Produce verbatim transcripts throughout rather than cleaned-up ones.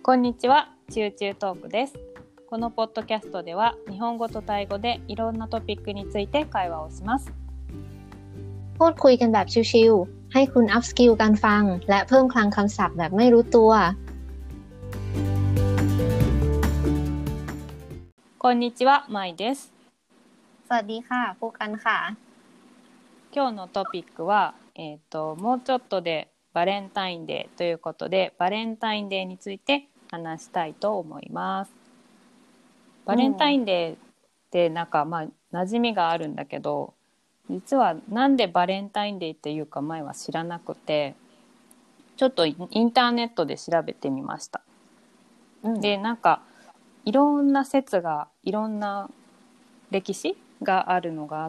こんにちは、チューチュートークです。このポッドキャストでは日本語とタイ語でいろんなトピックについて会話をします。 พูดคุยกันแบบชิวๆให้คุณอัพสกิลการฟังและเพิ่มคลังคำศัพท์แบบไม่รู้ตัว。 こんにちは、まいです。 สวัสดีค่ะผู้กันค่ะ。 今日のトピックは、えーと、もうちょっとでバレンタインデーということで、バレンタインデーについて話したいと思います。バレンタインデーってなんかまあ馴染みがあるんだけど、実はなんでバレンタインデーっていうか前は知らなくて、ちょっとインターネットで調べてみました。うん、でなんかいろんな説がいろんな歴史があるのがあって、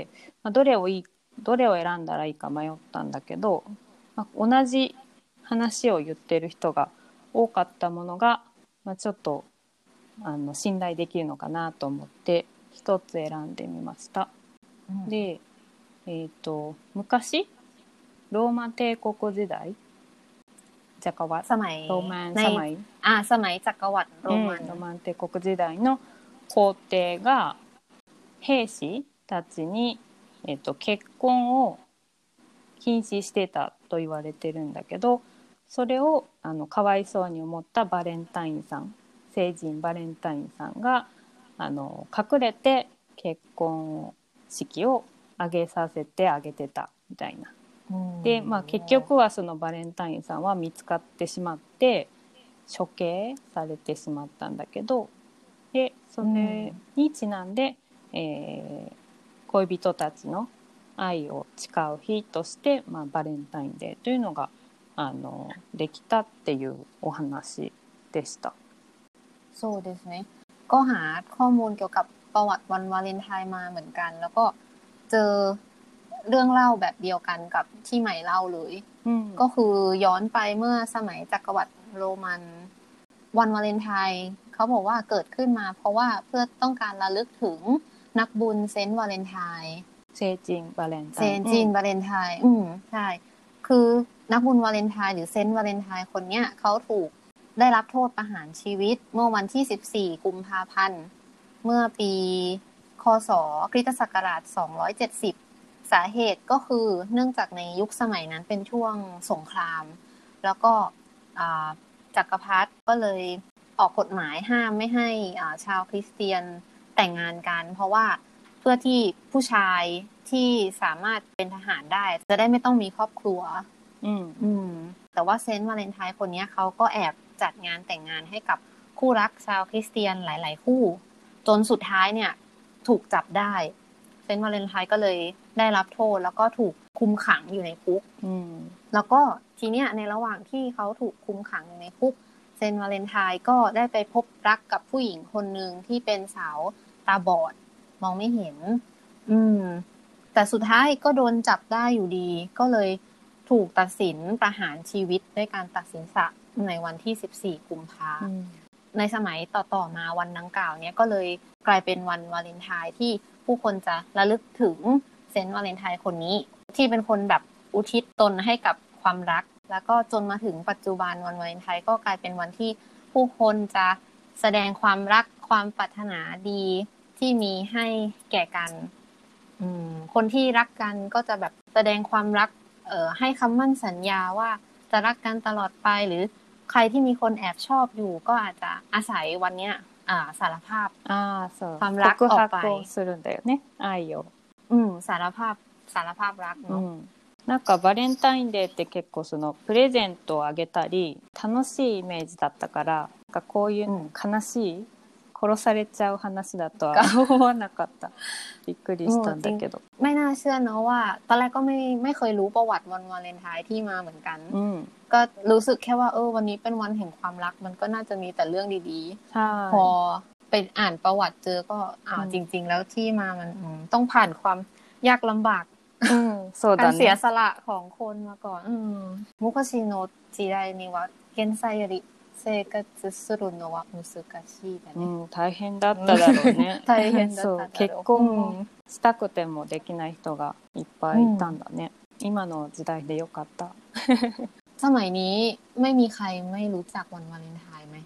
まあ、どれをいいどれを選んだらいいか迷ったんだけど、まあ、同じ話を言ってる人が多かったものが、まあ、ちょっとあの信頼できるのかなと思って一つ選んでみました。うん、で、えーと、昔ローマ帝国時代จักรวรรดิสมัยโรมันในสมัยอ่าสมัยจักรวรรดิโรมัน、 うん、ロマン帝国時代の皇帝が兵士たちに、えーと、結婚を禁止してたと言われてるんだけど、それをあのかわいそうに思ったバレンタインさん、聖人バレンタインさんがあの隠れて結婚式を挙げさせてあげてたみたいな。で、まあ、結局はそのバレンタインさんは見つかってしまって処刑されてしまったんだけど、でそれにちなんで、えー、恋人たちの愛を誓う日として、まあ、バレンタインデーというのがあのできたっていうお話でした。 そうですね。ก็หาข้อมูลเกี่ยวกับประวัติวันวาเลนไทน์มาเหมือนกันแล้วก็เจอเรื่องเล่าแบบเดียวกันกับที่ใหม่เล่าเลยก็คือย้อนไปเมื่อสมัยจักรวรรดิโรมันวันวาเลนไทน์เขาบอกว่าเกิดขึ้นมาเพราะว่าเพื่อต้องการระลึกถึงนักบุญเซนต์วาเลนไทน์เซจิงวาเลนไทน์เซจิงวาเลนไทน์อืมใช่คือนักบุญวาเลนไทน์หรือเซนต์วาเลนไทน์คนเนี้ยเขาถูกได้รับโทษประหารชีวิตเมื่อวันที่สิบสี่กุมภาพันธ์เมื่อปีคศคริสตศักราชสองร้อยเจ็ดสิบสาเหตุก็คือเนื่องจากในยุคสมัยนั้นเป็นช่วงสงครามแล้วก็จักรพรรดิก็เลยออกกฎหมายห้ามไม่ให้ชาวคริสเตียนแต่งงานกันเพราะว่าเพื่อที่ผู้ชายที่สามารถเป็นทหารได้จะได้ไม่ต้องมีครอบครัวอืมอืมแต่ว่าเซนต์วาเลนไทน์คนนี้เขาก็แอบจัดงานแต่งงานให้กับคู่รักชาวคริสเตียนหลายๆคู่จนสุดท้ายเนี่ยถูกจับได้เซนต์วาเลนไทน์ก็เลยได้รับโทษแล้วก็ถูกคุมขังอยู่ในคุกแล้วก็ทีเนี้ยในระหว่างที่เขาถูกคุมขังอยู่ในคุกเซนต์วาเลนไทน์ก็ได้ไปพบรักกับผู้หญิงคนนึงที่เป็นสาวตาบอดมองไม่เห็นอืมแต่สุดท้ายก็โดนจับได้อยู่ดีก็เลยถูกตัดสินประหารชีวิตด้วยการตัดสินสะในวันที่สิบสี่กุมภาพันธ์ในสมัยต่อๆมาวันดังกล่าวเนี้ยก็เลยกลายเป็นวันวาเลนไทน์ที่ผู้คนจะระลึกถึงเซนต์วาเลนไทน์คนนี้ที่เป็นคนแบบอุทิศตนให้กับความรักแล้วก็จนมาถึงปัจจุบันวันวาเลนไทน์ก็กลายเป็นวันที่ผู้คนจะแสดงความรักความปรารถนาดีที่มีให้แก่กันคนที่รักกันก็จะแบบแสดงความรักเอ่อให้คำมั่นสัญญาว่าจะรักกันตลอดไปหรือใครที่มีคนแอบชอบอยู่ก็อาจจะอาศัยวันเนี้ยอ่าสารภาพความรักออกไปするんだよね、愛をอืมสารภาพสารภาพรักเนาะなんかバレンタインデーって結構そのプレゼントをあげたり楽しいイメージだったから、なんかこういう悲しい殺されちゃう話だとは思わなかった。びっくりしたんだけど。 ไม่น่าเชื่อเนอะว่าตอนแรกก็ไม่ไม่เคยรู้ประวัติวันวาเลนไทน์ที่มาเหมือนกันก็รู้สึกแค่ว่าเออวันนี้เป็นวันแห่งความรักมันก็น่าจะมีแต่เรื่องดีๆพอไปอ่านประวัติเจอก็อ้าวจริงๆแล้วที่มามันต้องผ่านความยากลำบากการเสียสละของคนมาก่อนมุคชิโนะจิไดนิวะเกนไซริ生活するのは難しいだね、うん、 大変だっただろうね大変だっただろうそう結婚したくてもできない人がいっぱいいたんだね、うん、今の時代でよかったสมัยนี้ไม่มีใครไม่รู้จักวันวาเลนไทน์ไหม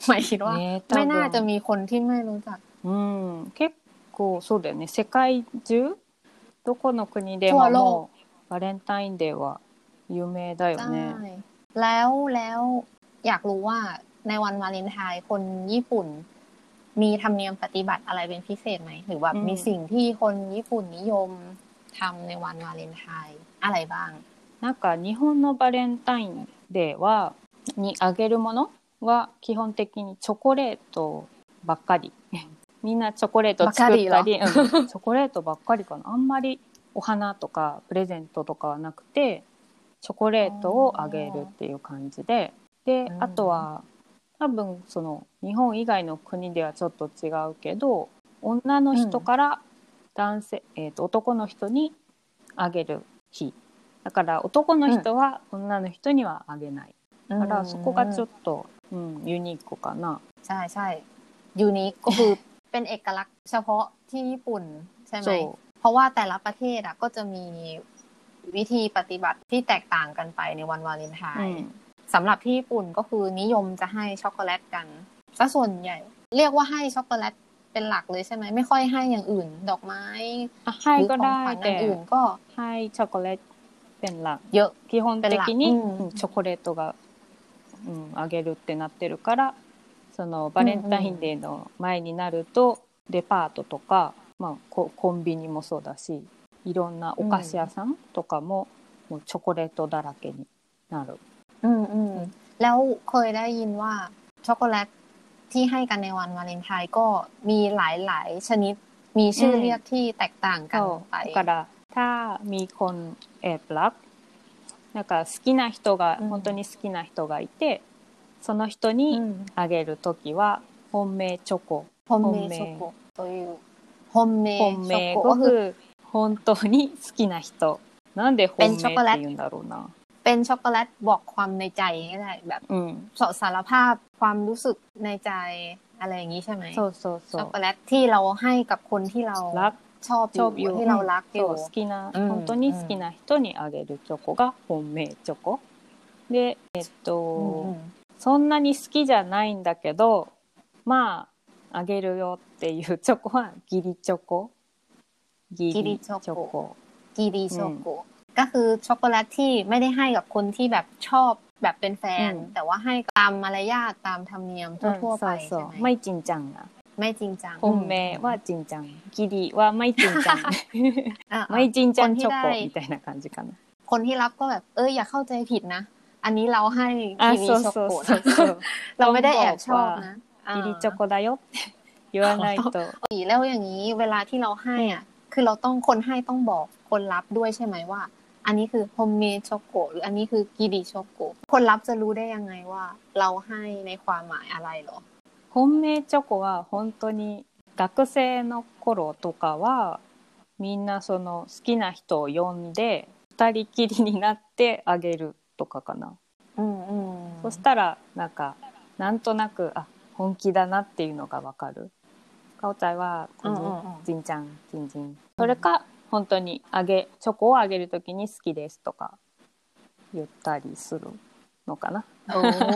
หมายคิดว่าไม่น่าจะมีคนที่ไม่รู้จักうん結構そうだよね世界中どこの国でももうバレンタインデーは有名だよねแล้วแล้วอยากรู้ว่าในวันวาเลนไทน์คนญี่ปุ่นมีธรรมเนียมปฏิบัติอะไรเป็นพิเศษไหมหรือว่ามีสิ่งที่คนญี่ปุ่นนิยมทำในวันวาเลนไทน์อะไรบ้างなんか日本のバレンタインデーはにあげるものは基本的にチョコレートばっかりみんなチョコレート作ったり、うん、チョコレートばっかりかなあんまりお花とかプレゼントとかはなくてチョコレートをあげるっていう感じでであとは多分その日本以外の国ではちょっと違うけど女の人から男性、うんえー、と男の人にあげる日だから男の人は女の人にはあげない、うん、だからそこがちょっと、うん、ユニークかなใช่ใช่ยูนิคก็คือเป็นเอกลักษณ์เฉพาะที่ญี่ปุ่นใช่ไหมเพราะว่าแต่ละประเทศอ่ะก็จะมีวิธีปฏิบัติที่แตกต่างกันไปในวันวาเลนไทน์สำหรับที่ญี่ปุ่นก็คือนิยมจะให้ช็อกโกแลตกันซะส่วนใหญ่เรียกว่าให้ช็อกโกแลตเป็นหลักเลยใช่ไหมไม่ค่อยให้อย่างอื่นดอกไม้ให้ก็ได้แต่อื่นก็ให้ช็อกโกแลตเป็นหลักเยอะ基本的にチョコレートが、うん、あげるってなってるからそのバレンタインデーの前になるとデパートとか、まあ、コ, コンビニもそうだしいろんなお菓子屋さんとかも、もうチョコレートだらけになるอืมอืมแล้วเคยได้ยินว่าช็อกโกแลตที่ให้กันในวันวาเลนไทน์ก็มีหลายๆชนิดมีชื่อเรียกที่แตกต่างกันไปだからถ้ามีคนแอบรักなんか好きな人が、うん、本当に好きな人がいてその人にあげるときは本命チョコ本命チョコという本命本命ก็คือ本当に好きな人なんで本命って言うんだろうなเป็นช็อกโกแลตบอกความในใจก็ได้แบบสารภาพความรู้สึกในใจอะไรอย่างนี้ใช่ไหมそうそうそうช็อกโกแลตที่เราให้กับคนที่เรารักชอบอยู่ที่เรารักอยู่好きな本当に好きな人にあげるチョコが本命チョコでえっと、うんうんそんなに好きじゃないんだけどまああげるよっていうチョコはギリチョコギリチョコギリチョコก็คือช็อกโกแลตที่ไม่ได้ให้กับคนที่แบบชอบแบบเป็นแฟนแต่ว่าให้ตามมารยาทตามธรรมเนียมทั่วๆไปใช่ไหมไม่จริงจังอ่ะไม่จริงจัง本命はจริงจังギリはไม่จริงจังไม่จริงจังチョコみたいな感じかなคนที่รับก็แบบเอออย่าเข้าใจผิดนะอันนี้เราให้กิริช็อกโกเราไม่ได้แอบชอบนะกิริช็อกโกだよって言わないとแล้วอย่างนี้เวลาที่เราให้อ่ะคือเราต้องคนให้ต้องบอกคนรับด้วยใช่ไหมว่าอันนี้คือโฮมเมดช็อกโกหรืออันนี้คือกิริช็อกโกคนรับจะรู้ได้ยังไงว่าเราให้ในความหมายอะไรหรอ本命チョコは本当に学生の頃とかはみんなその好きな人を呼んで二人きりになってあげるとかかな、 うんうん、 そしたらなんかなんとなくあ本気だなっていうのがわかるかおちゃんはジンちゃんジンジンそれか本当にあげチョコをあげるときに好きですとか言ったりするのかなโอ้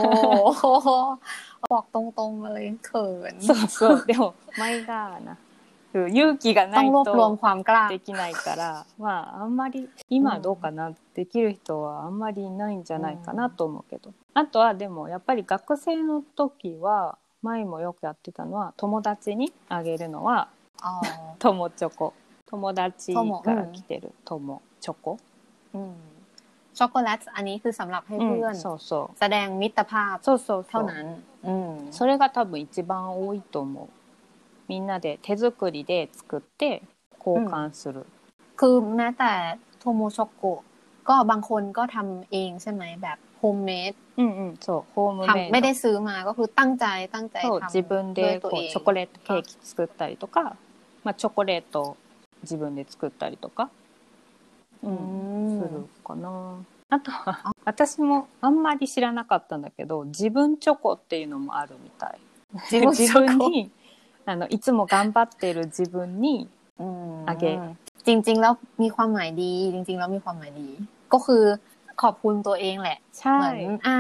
บอกตรงๆเลยเขินそうそうでも前がな勇気がないとできないからまああんまり今どうかな、うん、できる人はあんまりいないんじゃないかなと思うけど、うん、あとはでもやっぱり学生の時は前もよくやってたのは友達にあげるのは友チョコ友達から来てる友チョコ、 うんช็อกโกแลตอันนี้คือสำหรับให้เพื่อนแสดงมิตรภาพเท่านั้นそれが多分一番多いと思うみんなで手作りで作って交換するคือแม้แต่โทโมช็อกโกก็บางคนก็ทำเองใช่ไหมแบบโฮมเมดอืมอืมそうホームメイドไม่ได้ซื้อมาก็คือตั้งใจตั้งใจทำ自分でこうチョコレートケーキ作ったりとかまあチョコレート自分で作ったりとかうん、するかなあとは私もあんまり知らなかったんだけど自分チョコっていうのもあるみたい自分, 自分にあのいつも頑張ってる自分にあげจริงๆแล้วมีความหมายดีจริงๆแล้วมีความหมายดีก็คือขอบคุณตัวเองแหละเหมือนอ่ะ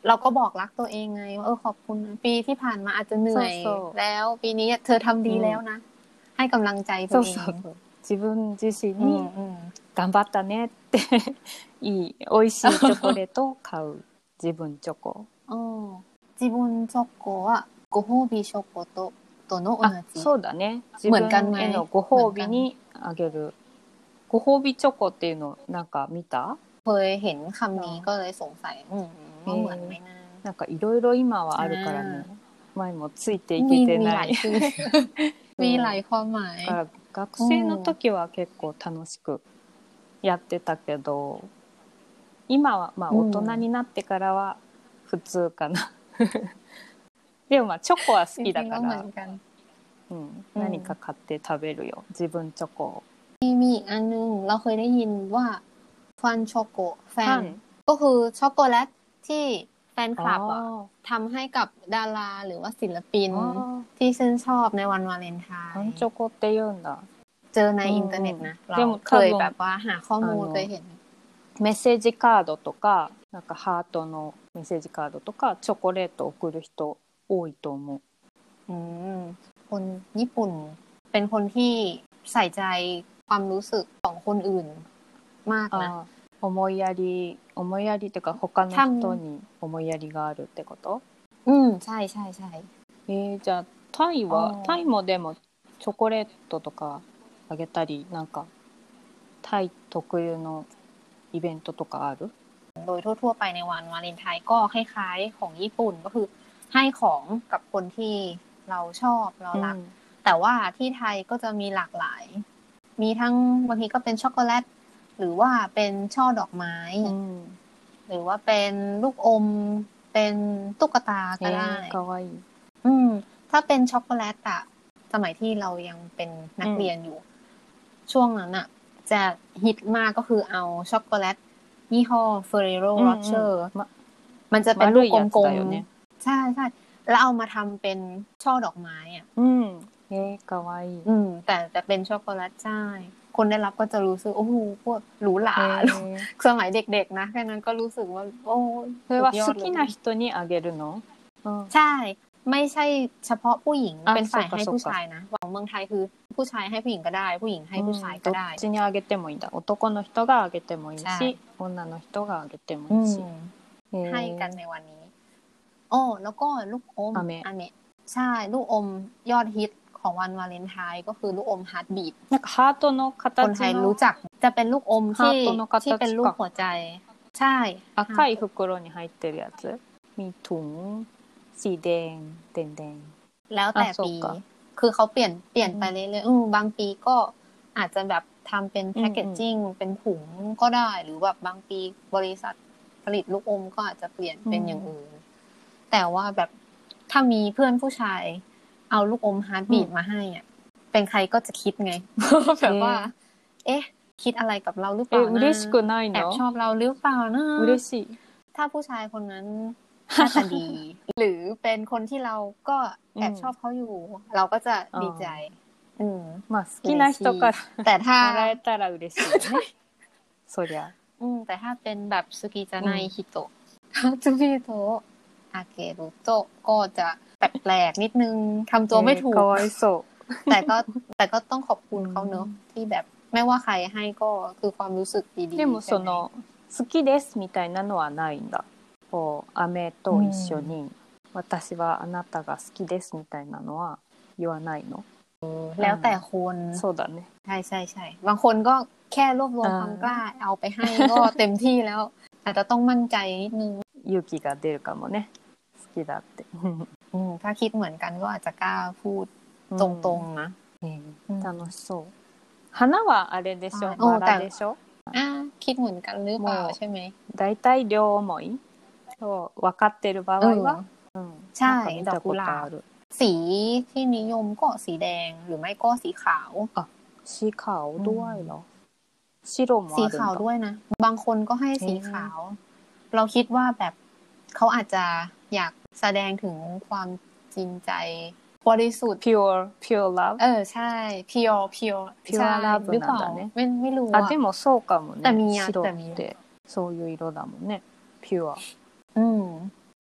เราก็บอกรักตัวเองไงว่าเออขอบคุณนะปีที่ผ่านมาอาจจะเหนื่อยแล้วปีนี้เธอทำดีแล้วนะให้กำลังใจตัวเอง自分自身に頑張ったねっていい美味しいチョコレートを買う自分チョコ自分チョコはご褒美チョコととの同じそうだね自分へのご褒美にあげるご褒美チョコっていうのなんか見たเคยเห็นคำนี้ก็เลยสงสัยว่าเหมือนไหมนะなんかいろいろ今はあるからね前もついていけてないมีหลายความหมายだから学生の時は結構楽しくやってたけど今はまあ大人になってからは普通かなでもまあチョコは好きだから、うん、何か買って食べるよ自分チョコมีมีอีกอันนึงเราเคยได้ยินว่าฟันช็อกโกแฟนก็คือช็อกโกแลตที่แฟนคลับอ่ะทำให้กับดาราหรือว่าศิลปินที่ชื่นชอบในวันวาเลนไทน์ฟันช็อกโกって言うんだเจอในอินเทอร์เน็ตนะเราเคยแบบว่าหาข้อมูลเคยเห็นメッセージカードとかなんかハートのメッセージカードとかチョコレート送る人多いと思うอืมคนญี่ปุ่นเป็นคนที่ใส่ใจความรู้สึกของคนอื่นมากนะ思いやり思いやりっていうか他の人に思いやりがあるってことอืมใช่ใช่ใช่えー、じゃあタイはタイもでもチョコレートとかあげたりなんかタイ特有のイベントとかあるโดยทั่วๆไปในวันวาเลนไทน์ก็คล้ายๆของญี่ปุ่นก็คือให้ของกับคนที่เราชอบเรารักแต่ว่าที่ไทยก็จะมีหลากหลายมีทั้งบางทีก็เป็นช็อกโกแลตหรือว่าเป็นช่อดอกไม้หรือว่าเป็นลูกอมเป็นตุ๊กตาก็ได้อืมถ้าเป็นช็อกโกแลตอะสมัยที่เรายังเป็นนักเรียนอยู่ช่วงนั้นอะจะฮิตมากก็คือเอาช็อกโกแลตยี่ห้อ Ferrero Rocher มันจะเป็นลูกกลมๆใช่ใช่แล้วเอามาทำเป็นช่อดอกไม้อ่ะอืมเอ๊ะกาวายอืมแต่แต่เป็นช็อกโกแลตใช่คนได้รับก็จะรู้สึกโอ้โหพวกหรูหราสมัยเด็กๆนะแค่นั้นก็รู้สึกว่าโอ้それは好きな人にあげるのใช่ไม่ใช่เฉพาะผู้หญิงเป็นฝ่ายให้ผู้ชายนะของเมืองไทยคือผู้ชายให้ผู้หญิงก็ได้ผู้หญิงให้ผู้ชายก็ได้どっちにあげてもいいんだ男の人があげてもいいし女の人があげてもいいしให้กันในวันนี้โอ้แล้วก็ลูกอมอาเมะใช่ลูกอมยอดฮิตของวันวาเลนไทน์ก็คือลูกอมฮาร์ทบีทなんかハートの形のคนไทยรู้จักจะเป็นลูกอมที่ที่เป็นรูปหัวใจใช่赤い袋に入ってるやつมีถุงสีแดงแดงๆแล้วแต่ปีคือเขาเปลี่ยนเปลี่ยนไปเรื่อยๆอือบางปีก็อาจจะแบบทำเป็นแพคเกจจิ้งเป็นถุงก็ได้หรือแบบบางปีบริษัทผลิตลูกอมก็อาจจะเปลี่ยนเป็นอย่างอื่นแต่ว่าแบบถ้ามีเพื่อนผู้ชายเอาลูกอมฮาร์ทบีทมาให้อ่ะเป็นใครก็จะคิดไงแบบว่าเอ๊ะคิดอะไรกับเราหรือเปล่านะแอบชอบเราหรือเปล่านะถ้าผู้ชายคนนั้นหน้าตาดีหรือเป็นคนที่เราก็แอบชอบเขาอยู่เราก็จะดีใจอืมまあ好きな人からแต่ถ้าもらえたら嬉しいよねそりゃอืมแต่ถ้าเป็นแบบสุกิจะไนฮิโตะสุกิโตะอาเกรุโตะก็จะแปลกๆนิดนึงทำตัวไม่ถูกแต่ก็แต่ก็ต้องขอบคุณเขาเนอะที่แบบไม่ว่าใครให้ก็คือความรู้สึกดีๆでもその好きですみたいなのはないんだこう飴と一緒に私はあなたが好きですみたいなのは言わないのแล้วแต่คนそうだねใช่ใช่ใช่บางคนก็แค่รวบรวมความกล้าเอาไปให้ก็เต็มที่แล้วอาจจะต้องมั่นใจนิดนึง勇気が出るかもね好きだってอืมถ้าคิดเหมือนกันก็อาจจะกล้าพูดตรงๆนะ楽しそう花はあれでしょバラでしょอ่าคิดเหมือนกันหรือเปล่าใช่ไหมだいたい両思い分かってる場合はใช่ดอกกุหลาบสีที่นิยมก็สีแดงหรือไม่ก็สีขาวอ่ะสีขาวด้วยเหรอ白もあるんだสีขาวด้วยนะบางคนก็ให้สีขาวเราคิดว่าแบบเขาอาจจะอยากแสดงถึงความจริงใจบริสุทธิ์ pure pure love เออใช่ pure pure pure love หรือเปล่าไม่ไม่รู้อ่ะでもそうかもねแต่มี白ってそういう色だもんね pure อืมจ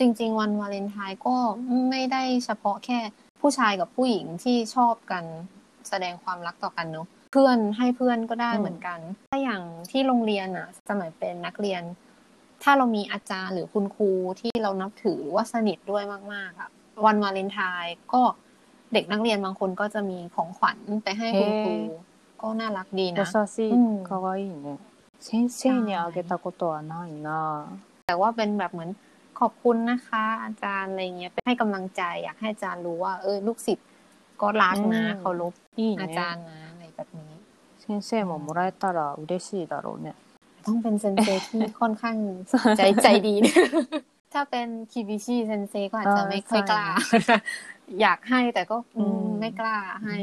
จริงๆวันวาเลนไทน์ก็ไม่ได้เฉพาะแค่ผู้ชายกับผู้หญิงที่ชอบกันแสดงความรักต่อกันเนอะเพื่อนให้เพื่อนก็ได้เหมือนกันถ้าอย่างที่โรงเรียนอ่ะสมัยเป็นนักเรียนถ้าเรามีอาจารย์หรือคุณครูที่เรานับถือหรือว่าสนิทด้วยมากๆอ่ะวันวาเลนไทน์ก็เด็กนักเรียนบางคนก็จะมีของขวัญไปให้คุณครูก็น่ารักดีนะ優しいかわいいね先生にあげたことはないなแต่ว่าเป็นแบบเหมือนขอบคุณนะคะอาจารย์อะไรเงี้ยให้กำลังใจอยากให้อาจารย์รู้ว่าเออลูกศิษย์ก็รักนะเคารพอาจารย์นะอะไรแบบนี้先生ももらえたら嬉しいだろうねต้องเป็นเซนเซที่ค่อนข้างใจใจดีถ้าเป็นคิบิชิเซนเซก็อาจจะไม่ค่อยกล้าอยากให้แต่ก็ไม่กล้าให้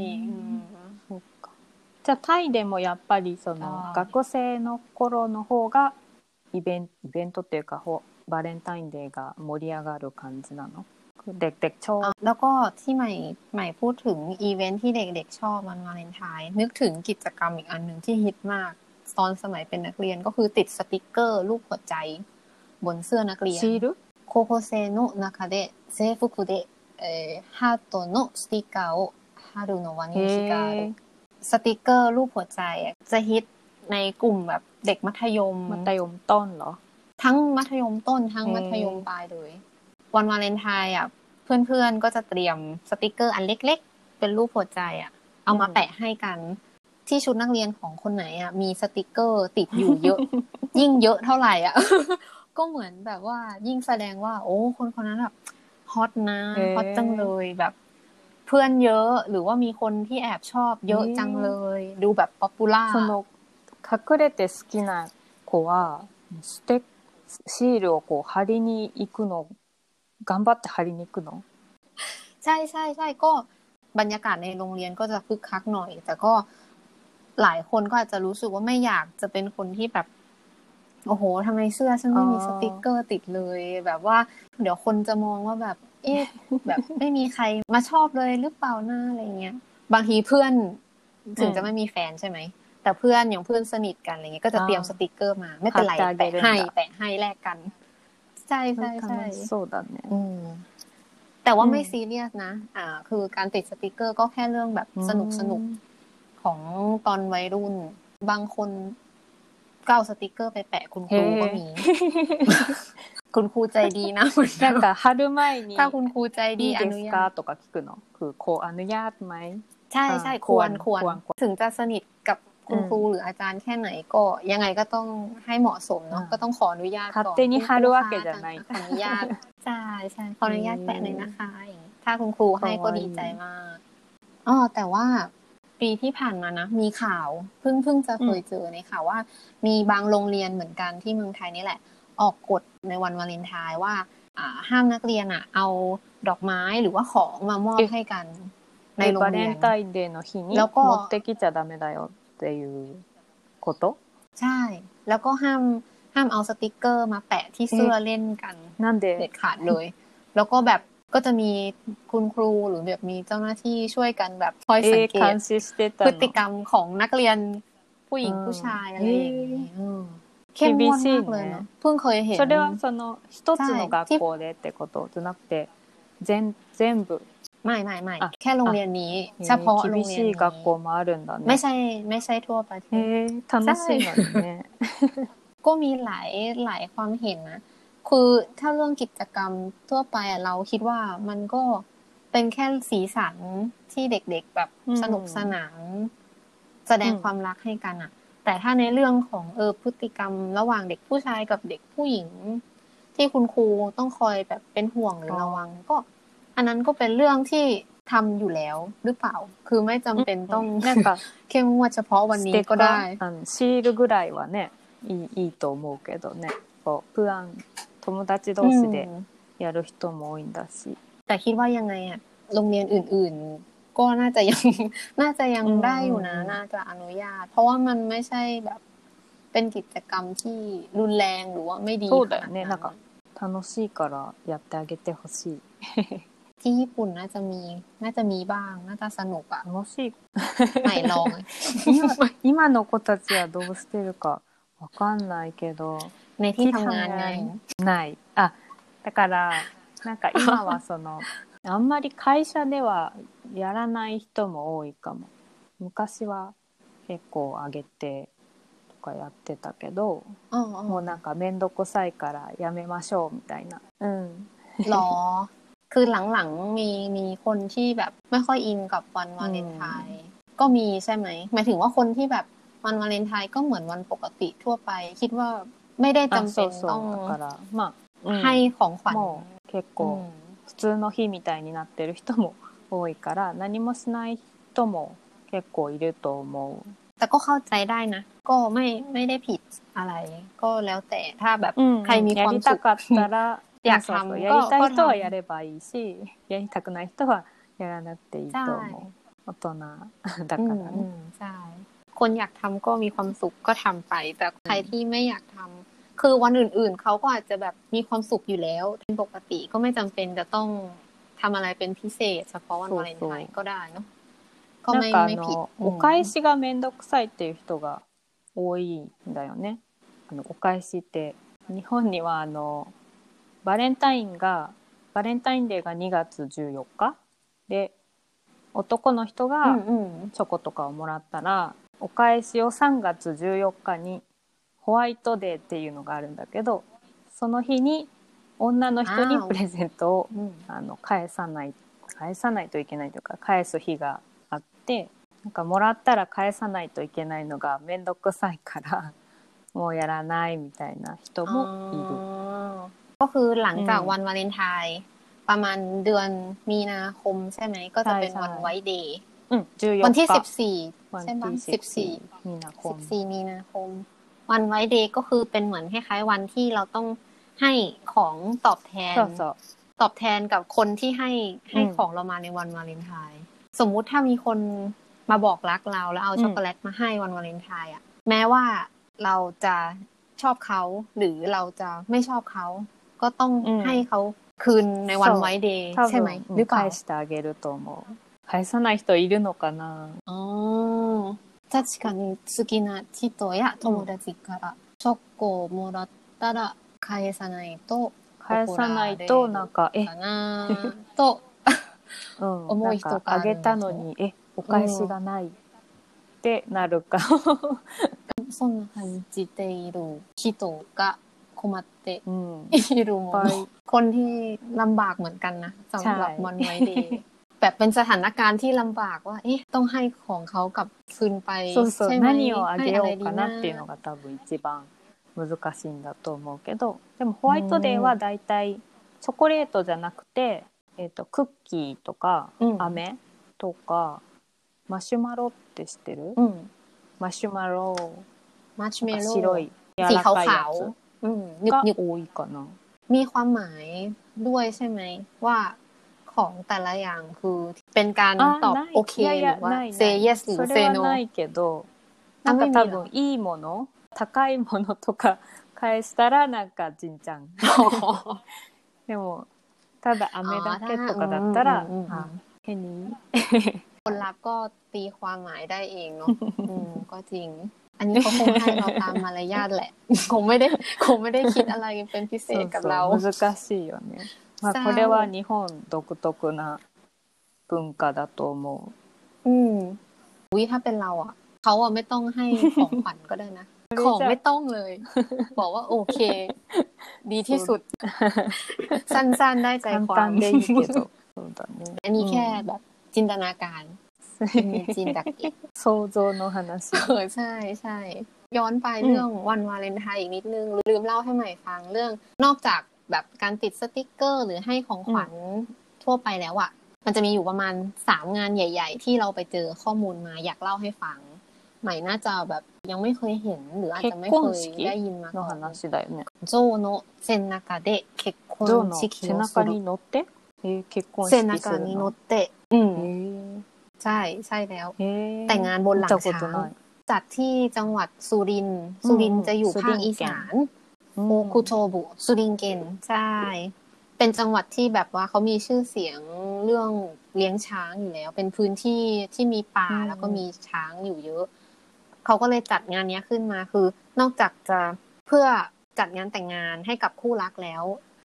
じゃあタイでもやっぱりその学生の頃の方がイベント、イベントっていうかバレンタインデーが盛り上がる感じなのเด็กๆชอบแล้วก็ที่ใหม่ใหม่พูดถึงอีเวนท์ที่เด็กๆชอบวันวาเลนไทน์นึกถึงกิจกรรมอีกอันหนึ่งที่ฮิตมากตอนสมัยเป็นนักเรียนก็คือติดสติกเกอร์รูปหัวใจบนเสื้อนักเรียนシール高校生の中で制服で、えー、ハートのステッカーを貼るのは人気があるสติกเกอร์รูปหัวใจจะฮิตในกลุ่มแบบเด็กมัธยมมัธยมต้นเหรอทั้งมัธยมต้นทั้งมัธยมปลายเลยวันวาเลนไทน์อ่ะเพื่อนๆก็จะเตรียมสติกเกอร์อันเล็กๆเป็นรูปหัวใจอ่ะเอามาแปะให้กันที่ชุดนักเรียนของคนไหนอ่ะมีสติกเกอร์ติดอยู่เยอะ ยิ่งเยอะเท่าไหร่อ่ะ ก็เหมือนแบบว่ายิ่งแสดงว่าโอ้คนคนนั้นแบบฮอตนะฮอตจังเลยแบบเพื่อนเยอะหรือว่ามีคนที่แอบชอบเยอะจังเลยดูแบบป๊อปปูล่าその隠れて好きな子はステシールをこう貼りに行くの頑張って貼りに行くのใช่ใช่ใช่ก็บรรยากาศในโรงเรียนก็จะคึกคักหน่อยแต่ก็หลายคนก็อาจจะรู้สึกว่าไม่อยากจะเป็นคนที่แบบโอ้โหทำไมเสื้อฉันไม่มีสติกเกอร์ติดเลยแบบว่าเดี๋ยวคนจะมองว่าแบบเอ๊ะแบบไม่มีใครมาชอบเลยหรือเปล่าหน้าอะไรเงี้ยบางทีเพื่อนถึงจะไม่มีแฟนใช่ไหมแต่เพื่อนอย่างเพื่อนสนิทกันอะไรเงี้ยก็จะเตรียมสติกเกอร์มาไม่เป็นไรแปะให้แปะให้แลกกันใช่ใช่ใช่そうだねแต่ว่าไม่ซีเรียสนะอ่าคือการติดสติกเกอร์ก็แค่เรื่องแบบสนุกสนุกของตอนวัยรุ่นบางคนก็เอาสติกเกอร์ไปแปะคุณครูก็มีคุณครูใจดีนะなんか貼る前にถ้าคุณครูใจดีอนุญาตとか聞くのคือขออนุญาตไหมใช่ใช่ควรควรถึงจะสนิทกับคุณครูหรืออาจารย์แค่ไหนก็ยังไงก็ต้องให้เหมาะสมเนาะก็ต้องขออนุญาตก่อน勝手に貼るわけじゃないขออนุญาตใช่ใช่ขออนุญาตแปะหน่อยนะคะถ้าคุณครูให้ก็ดีใจมากอ๋อแต่ว่าปีที่ผ่านมานะมีข่าวเพิ่งเพิ่งจะเคยเจอในข่าวว่ามีบางโรงเรียนเหมือนกันที่เมืองไทยนี่แหละออกกฎในวันวาเลนไทน์ว่าอ่าห้ามนักเรียนอ่ะเอาดอกไม้หรือว่าของมามอบให้กันในโรงเรียนバレンタインデーの日に持ってきちゃダメだよっていうことใช่แล้วก็ห้ามห้ามเอาสติกเกอร์มาแปะที่เสื้อเล่นกันนั่นเด็ดขาดเลยแล้วก็แบบก็จะมีคุณครูหรือแบบมีเจ้าหน้าที่ช่วยกันแบบคอยสังเกตพฤติกรรมของนักเรียนผู้หญิงผู้ชายอะไรอย่างนี้เข้มงวดมากเลยเนาะเพิ่งเคยเห็นそれはその一つの学校でってことじゃなくて全全部ไม่ไม่ไม่แค่โรงเรียนนี้เฉพาะโรงเรียนนี้ไม่ใช่ไม่ใช่ทั่วประเทศ楽しいのねก็มีหลายหลายความเห็นนะคือถ้าเรื่องกิจกรรมทั่วไปเราคิดว่ามันก็เป็นแค่สีสันที่เด็กๆแบบสนุกสนานแสดงความรักให้กันอ่ะแต่ถ้าในเรื่องของเออพฤติกรรมระหว่างเด็กผู้ชายกับเด็กผู้หญิงที่คุณครูต้องคอยแบบเป็นห่วงหรือระวังก็อันนั้นก็เป็นเรื่องที่ทำอยู่แล้วหรือเปล่าคือไม่จำเป็นต้องเข้มงวดเฉพาะวันนี้ก็ได้シールぐらいはねいい、いいと思うけどねこうプラン友達同士でやる人も多いんだしแต่คิดว่ายังไงอ่ะโรงเรียนอื่นๆก็น่าจะยังน่าจะยังได้อยู่นะน่าจะอนุญาตเพราะว่ามันไม่ใช่แบบเป็นกิจกรรมที่รุนแรงหรือว่าไม่ดีそうだよねなんか楽しいからやってあげてほしいที่ญี่ปุ่นน่าจะมีน่าจะมีบ้างน่าจะสนุกอ่ะ楽しいไม่ลอง今の子たちはどうしてるかわかんないけどในที่ทำงานไงないあだからなんか今はそのあんまり会社ではやらない人も多いかも。昔は結構上げてとかやってたけど、もうなんかめんどくさいからやめましょうみたいな。うん。 หรอคือหลังๆมีมีคนที่แบบไม่ค่อยอินกับวันวาเลนไทน์ก็มีใช่ไหมหมายถึงว่าคนที่แบบวันวาเลนไทน์ก็เหมือนวันปกติทั่วไปคิดว่าไม่ได้จำเป็นต้องだからまあ、うん、 ให้ของขวัญもう結構普通の日みたいになってる人も多いから何もしない人も結構いると思う。 แต่ก็เข้าใจได้นะก็ไม่ไม่ได้ผิดอะไรก็แล้วแต่ถ้าแบบใครมีความสุขอยากทำやりたい人はやればいいし、やりたくない人はやらなくていいと思う。大人だからね。 ใช่คนอยากทำก็มีความสุขก็ทำไปแต่ใครที่ไม่อยากทำคือวันอื่นๆเขาก็อาจจะแบบมีความสุขอยู่แล้วเป็นปกติก็ไม่จำเป็นจะต้องทำอะไรเป็นพิเศษเฉพาะวันวาเลนไทน์ก็ได้เนาะก็ไม่ไม่ผิดお返しがめんどくさいっていう人が多いんだよね。あのお返しって日本にはあのバレンタインがバレンタインデーがにがつじゅうよっかで、男の人がチョコとかをもらったら、うんうん、お返しをさんがつじゅうよっかにホワイトデーっていうのがあるんだけど、その日に女の人にプレゼントをあ、あの返さない返さないといけないというか返す日があって、なんかもらったら返さないといけないのがめんどくさいからもうやらないみたいな人もいる。 ก็คือหลังจากวันวาเลนไทน์ประมาณเดือนมีนาคมใช่ไหมก็จะเป็นวันไวท์เดย์วันที่สิบสี่ใช่ไหมสิบสี่มีนาคมสิบสี่มีนาคมวันไวท์เดย์ก็คือเป็นเหมือนคล้ายๆวันที่เราต้องให้ของตอบแทนตอบแทนกับคนที่ให้ให้ของเรามาในวันวาเลนไทน์สมมุติถ้ามีคนมาบอกรักเราแล้วเอาช็อกโกแลตมาให้วันวาเลนไทน์อ่ะแม้ว่าเราจะชอบเขาหรือเราจะไม่ชอบเขาก็ต้องให้เขาคืนในวันไวท์เดย์ใช่ไหมหรือเปล่า返してあげると思う。返さない人いるのかな。ああ、確かに好きな人や友達からチョコをもらったら返さないと返さないとなんかえかなと思う人があげたのにえお返しがないってなるか。そんな感じている人が困っているものคนที่ลำบากเหมือนกันนะสำหรับวันไวท์เดย์แบบเป็นสถานการณ์ที่ลำบากว่าเอ๊ะต้องให้ของเขากลับคืนไปใช่ไหม何をあげようかなっていうのが多分一番難しいんだと思うけど、でもホワイトデーはだいたいチョコレートじゃなくて、えーと、クッキーとか、うん、飴とかマシュマロって知ってる、うん、マシュマロマシュメロ白い柔らかいやつが多いかな。มีความหมายด้วยใช่ไหมว่าของแต่ละอย่างคือเป็นการตอบโอเคหรือว่า say yes หรือ say no それはないけど、なんか多分いいもの高いものとか返したらなんかジンちゃんでもただ飴だけとかだったら変にคนรับก็ตีความหมายได้เองเนาะก็จริงอันนี้เขาคงให้เราตามมารยาทแหละคงไม่ได้คงไม่ได้คิดอะไรเป็นพิเศษกับเรา難しいよね。まあこれは日本独特な文化だと思う。อืมอุ๊ยถ้าเป็นเราอ่ะเขาอ่ะไม่ต้องให้ของขวัญก็ได้นะของไม่ต้องเลยบอกว่าโอเคดีที่สุดสั้นๆได้ใจความได้いいけどอันนี้แค่แบบจินตนาการมีจินตนาการ想像の話เออใช่ใช่ย้อนไปเรื่องวันวาเลนไทน์อีกนิดนึงลืมเล่าให้ใหม่ฟังเรื่องนอกจากแบบการติดสติ๊กเกอร์หรือให้ของขวัญทั่วไปแล้วอ่ะมันจะมีอยู่ประมาณสามงานใหญ่ๆที่เราไปเจอข้อมูลมาอยากเล่าให้ฟังใหม่น่าจะแบบยังไม่เคยเห็นหรืออาจจะไม่เคยได้ยินมาก่อนโจโนะเซนนากาเดะ結婚式をする背中に乗って結婚式するの背中に乗ってอืมใช่ใช่แล้วแต่งงานบนหลังช้างจัดที่จังหวัดสุรินทร์สุรินทร์จะอยู่ภาคอีสานโอคุโชบุสุรินเกนใช่เป็นจังหวัดที่แบบว่าเขามีชื่อเสียงเรื่องเลี้ยงช้างอยู่แล้วเป็นพื้นที่ที่มีป่าแล้วก็มีช้างอยู่เยอะเขาก็เลยจัดงานนี้ขึ้นมาคือนอกจากจะเพื่อจัดงานแต่งงานให้กับคู่รักแล้ว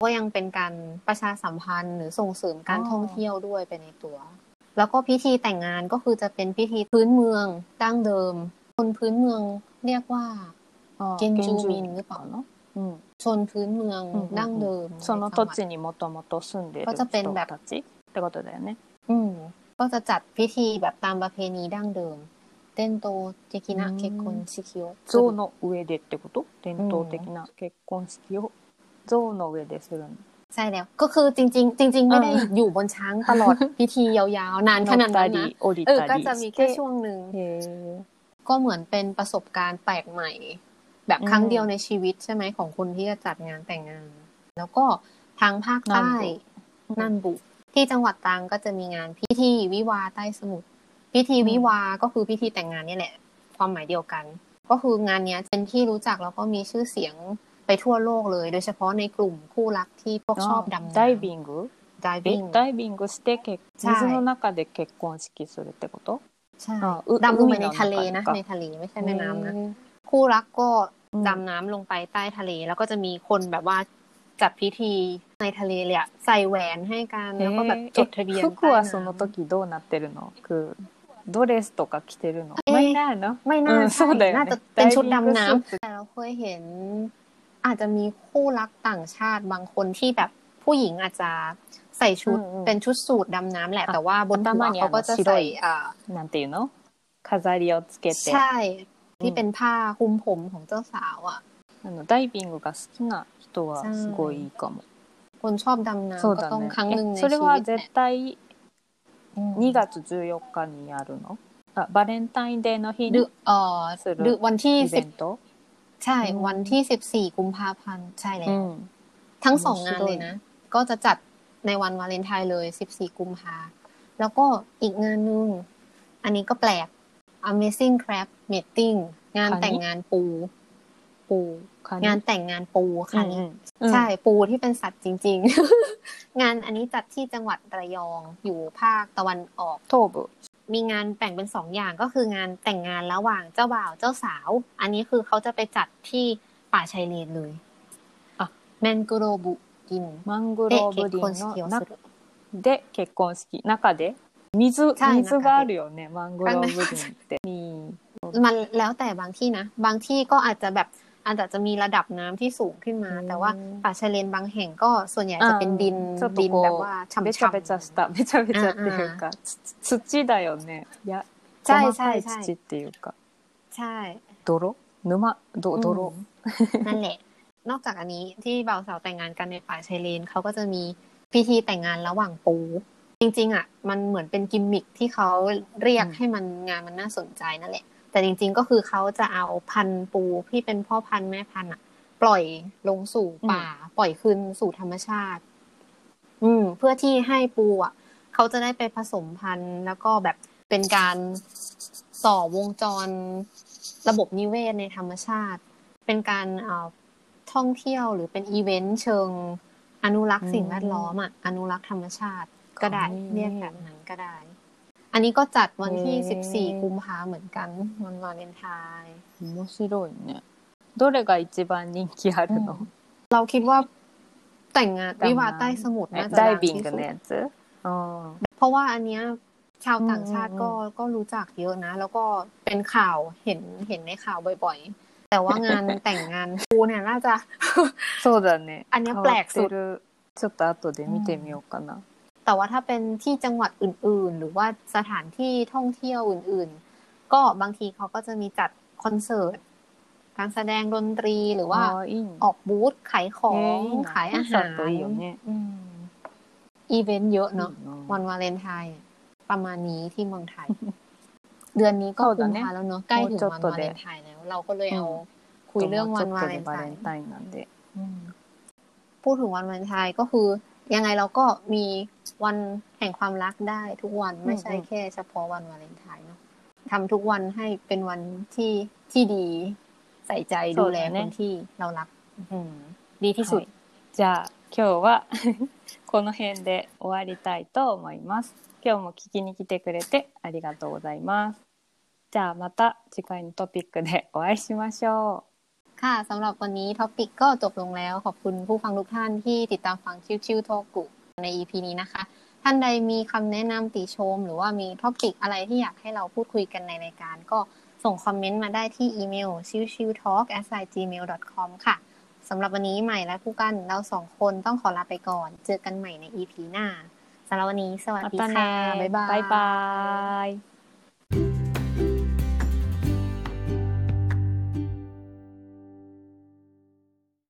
ก็ยังเป็นการประชาสัมพันธ์หรือส่งเสริมการท่องเที่ยวด้วยไปในตัวแล้วก็พิธีแต่งงานก็คือจะเป็นพิธีพื้นเมืองดั้งเดิมคนพื้นเมืองเรียกว่าเกนจูมินหรือเปล่าเนาะชนพื้นเมืองดั้งเดิมその土地にもともと住んでいる人たちってことだよねอืมก็จะจัดพิธีแบบตามประเพณีดั้งเดิม伝統的な結婚式を象の上でってこと伝統的な結婚式を象の上でするんใช่แล้วก็คือจริงๆจริงๆไม่ได้อยู่บนช้างตลอดพิธียาวๆนานขนาดนั้นนะเออก็จะมีแค่ช่วงนึงก็เหมือนเป็นประสบการณ์แปลกใหม่แบบครั้งเดียวในชีวิตใช่ไหมของคนที่จะจัดงานแต่งงานแล้วก็ทางภาคใต้นันบุที่จังหวัดตรังก็จะมีงานพิธีวิวาห์ใต้สมุทรพิธีวิวาห์ก็คือพิธีแต่งงานนี่แหละความหมายเดียวกันก็คืองานนี้เป็นที่รู้จักแล้วก็มีชื่อเสียงไปทั่วโลกเลยโดยเฉพาะในกลุ่มคู่รักที่พวกชอบดำน้ำダイビングダイビングダイビングして水の中で結婚式するってことใช่ดำลงไปในทะเลนะในทะเลไม่ใช่แม่น้ำนะคู่รักก็ดำน้ำลงไปใต้ทะเลแล้วก็จะมีคนแบบว่าจัดพิธีในทะเลเลยอะใส่แหวนให้กันแล้วก็แบบจดทะเบียน服はその時どうなってるのคือドレスとか着てるのไม่น่าเนาะไม่น่าใช่น่าจะเป็นชุดดำน้ำแต่เราเคยเห็นอาจจะมีคู่รักต่างชาติบางคนที่แบบผู้หญิงอาจจะใส่ชุดเป็นชุดสูทดำน้ำแหละแต่ว่าบนหัวเขาก็จะใส่อ่าなんていうの飾りをつけてใช่ที่เป็นผ้าคลุมผมของเจ้าสาวอ่ะあのダイビングが好きな人はすごいいいかもคนชอบดำน้ำก็ต้องครั้งหนึ่งในชีวิตそれは絶対にがつじゅうよっかにやるのあバレンタインデーの日にするวันที่イベントใช่วันที่สิบสี่กุมภาพันธ์ใช่แล้วทั้งสองงานเลยนะก็จะจัดในวันวาเลนไทน์เลยสิบสี่กุมภาแล้วก็อีกงานนึงอันนี้ก็แปลก Amazing Crab Meeting งานแต่งงานปูปูงานแต่งงานปูค่ะนี่ใช่ปูที่เป็นสัตว์จริงๆงานอันนี้จัดที่จังหวัดระยองอยู่ภาคตะวันออกโทบุมีงานแบ่งเป็นสองอย่างก็คืองานแต่งงานระหว่างเจ้าบ่าวเจ้าสาวอันนี้คือเขาจะไปจัดที่ป่าชายเลนเลยอ่ะแมนกโรบุดินマングローブ林の中で結婚式中で水水があるよねマングローブ林ってมันแล้วแต่บางที่นะบางที่ก็อาจจะแบบอาจจะมีระดับน้ำที่สูงขึ้นมาแต่ว่าป่าชายเลนบางแห่งก็ส่วนใหญ่จะเป็นดินดินแบบว่าฉ่ำๆべちゃべちゃしたべちゃべちゃっていうか土だよねいやใช่ใช่ใช่土っていうかใช่泥沼ど泥นั่นแหละนอกจากอันนี้ที่บ่าวสาวแต่งงานกันในป่าชายเลนเขาก็จะมีพิธีแต่งงานระหว่างปูจริงๆอ่ะมันเหมือนเป็นกิมมิคที่เขาเรียกให้มันงานมันน่าสนใจนั่นแหละแต่จริงๆก็คือเขาจะเอาพันธุ์ปูที่เป็นพ่อพันธุ์แม่พันธุ์อ่ะปล่อยลงสู่ป่าปล่อยคืนสู่ธรรมชาติอืมเพื่อที่ให้ปูอ่ะเขาจะได้ไปผสมพันธุ์แล้วก็แบบเป็นการต่อวงจรระบบนิเวศในธรรมชาติเป็นการเอ่อท่องเที่ยวหรือเป็นอีเวนต์เชิงอนุรักษ์สิ่งแวดล้อมอ่ะอนุรักษ์ธรรมชาติก็ได้เรียกแบบนั้นก็ได้อันนี้ก็จัดวันที่สิบสี่กุมภาพันธ์เหมือนกันวันวาเลนไทน์面白いねどれが一番人気あるのเราคิดว่าแต่งงานวิวาห์ใต้สมุทรน่าจะดังที่สุดเพราะว่าอันเนี้ยชาวต่างชาติก็ก็รู้จักเยอะนะแล้วก็เป็นข่าวเห็นเห็นในข่าวบ่อยๆแต่ว่างานแต่งงานปูเนี่ยน่าจะそうだねอันนี้แปลกสุดちょっと後で見てみようかなแต่ว่าถ้าเป็นที่จังหวัดอื่นๆหรือว่าสถานที่ท่องเที่ยวอื่นๆก็บางทีเขาก็จะมีจัดคอนเสิร์ตการแสดงดนตรีหรือว่าออกบูธขายของขายอาหารอีเวนต์เยอะเนาะวันวาเลนไทน์ประมาณนี้ที่เมืองไทยเดือนนี้ก็กุมภาแล้วเนาะใกล้ถึงวันวาเลนไทน์แล้วเราก็เลยเอาคุยเรื่องวันวาเลนไทน์พูดถึงวันวาเลนไทน์ก็คือยังไงเราก็มีวันแห่งความรักได้ทุกวันไม่ใช่แค่เฉพาะวันวาเลนไทน์เนาะทำทุกวันให้เป็นวันที่ที่ดีใส่ใจดูแลคนที่เรารักดีที่สุดじゃあ今日はこの辺で終わりたいと思います今日も聞きに来てくれてありがとうございますじゃあまた次回のトピックでお会いしましょうค่ะสำหรับวันนี้ท็อปิกก็จบลงแล้วขอบคุณผู้ฟังทุกท่านที่ติดตามฟังชิวๆโทกุใน อี พี นี้นะคะท่านใดมีคำแนะนำติชมหรือว่ามีท็อปิกอะไรที่อยากให้เราพูดคุยกันในรายการก็ส่งคอมเมนต์มาได้ที่อีเมล ชิวชิวทอล์ก แอท จีเมล ดอท คอม ค่ะสำหรับวันนี้ใหม่และผู้กันเราสองคนต้องขอลาไปก่อนเจอกันใหม่ใน อี พี หน้าสำหรับวันนี้สวัสดีค่ะบ๊ายบายบ๊ายบาย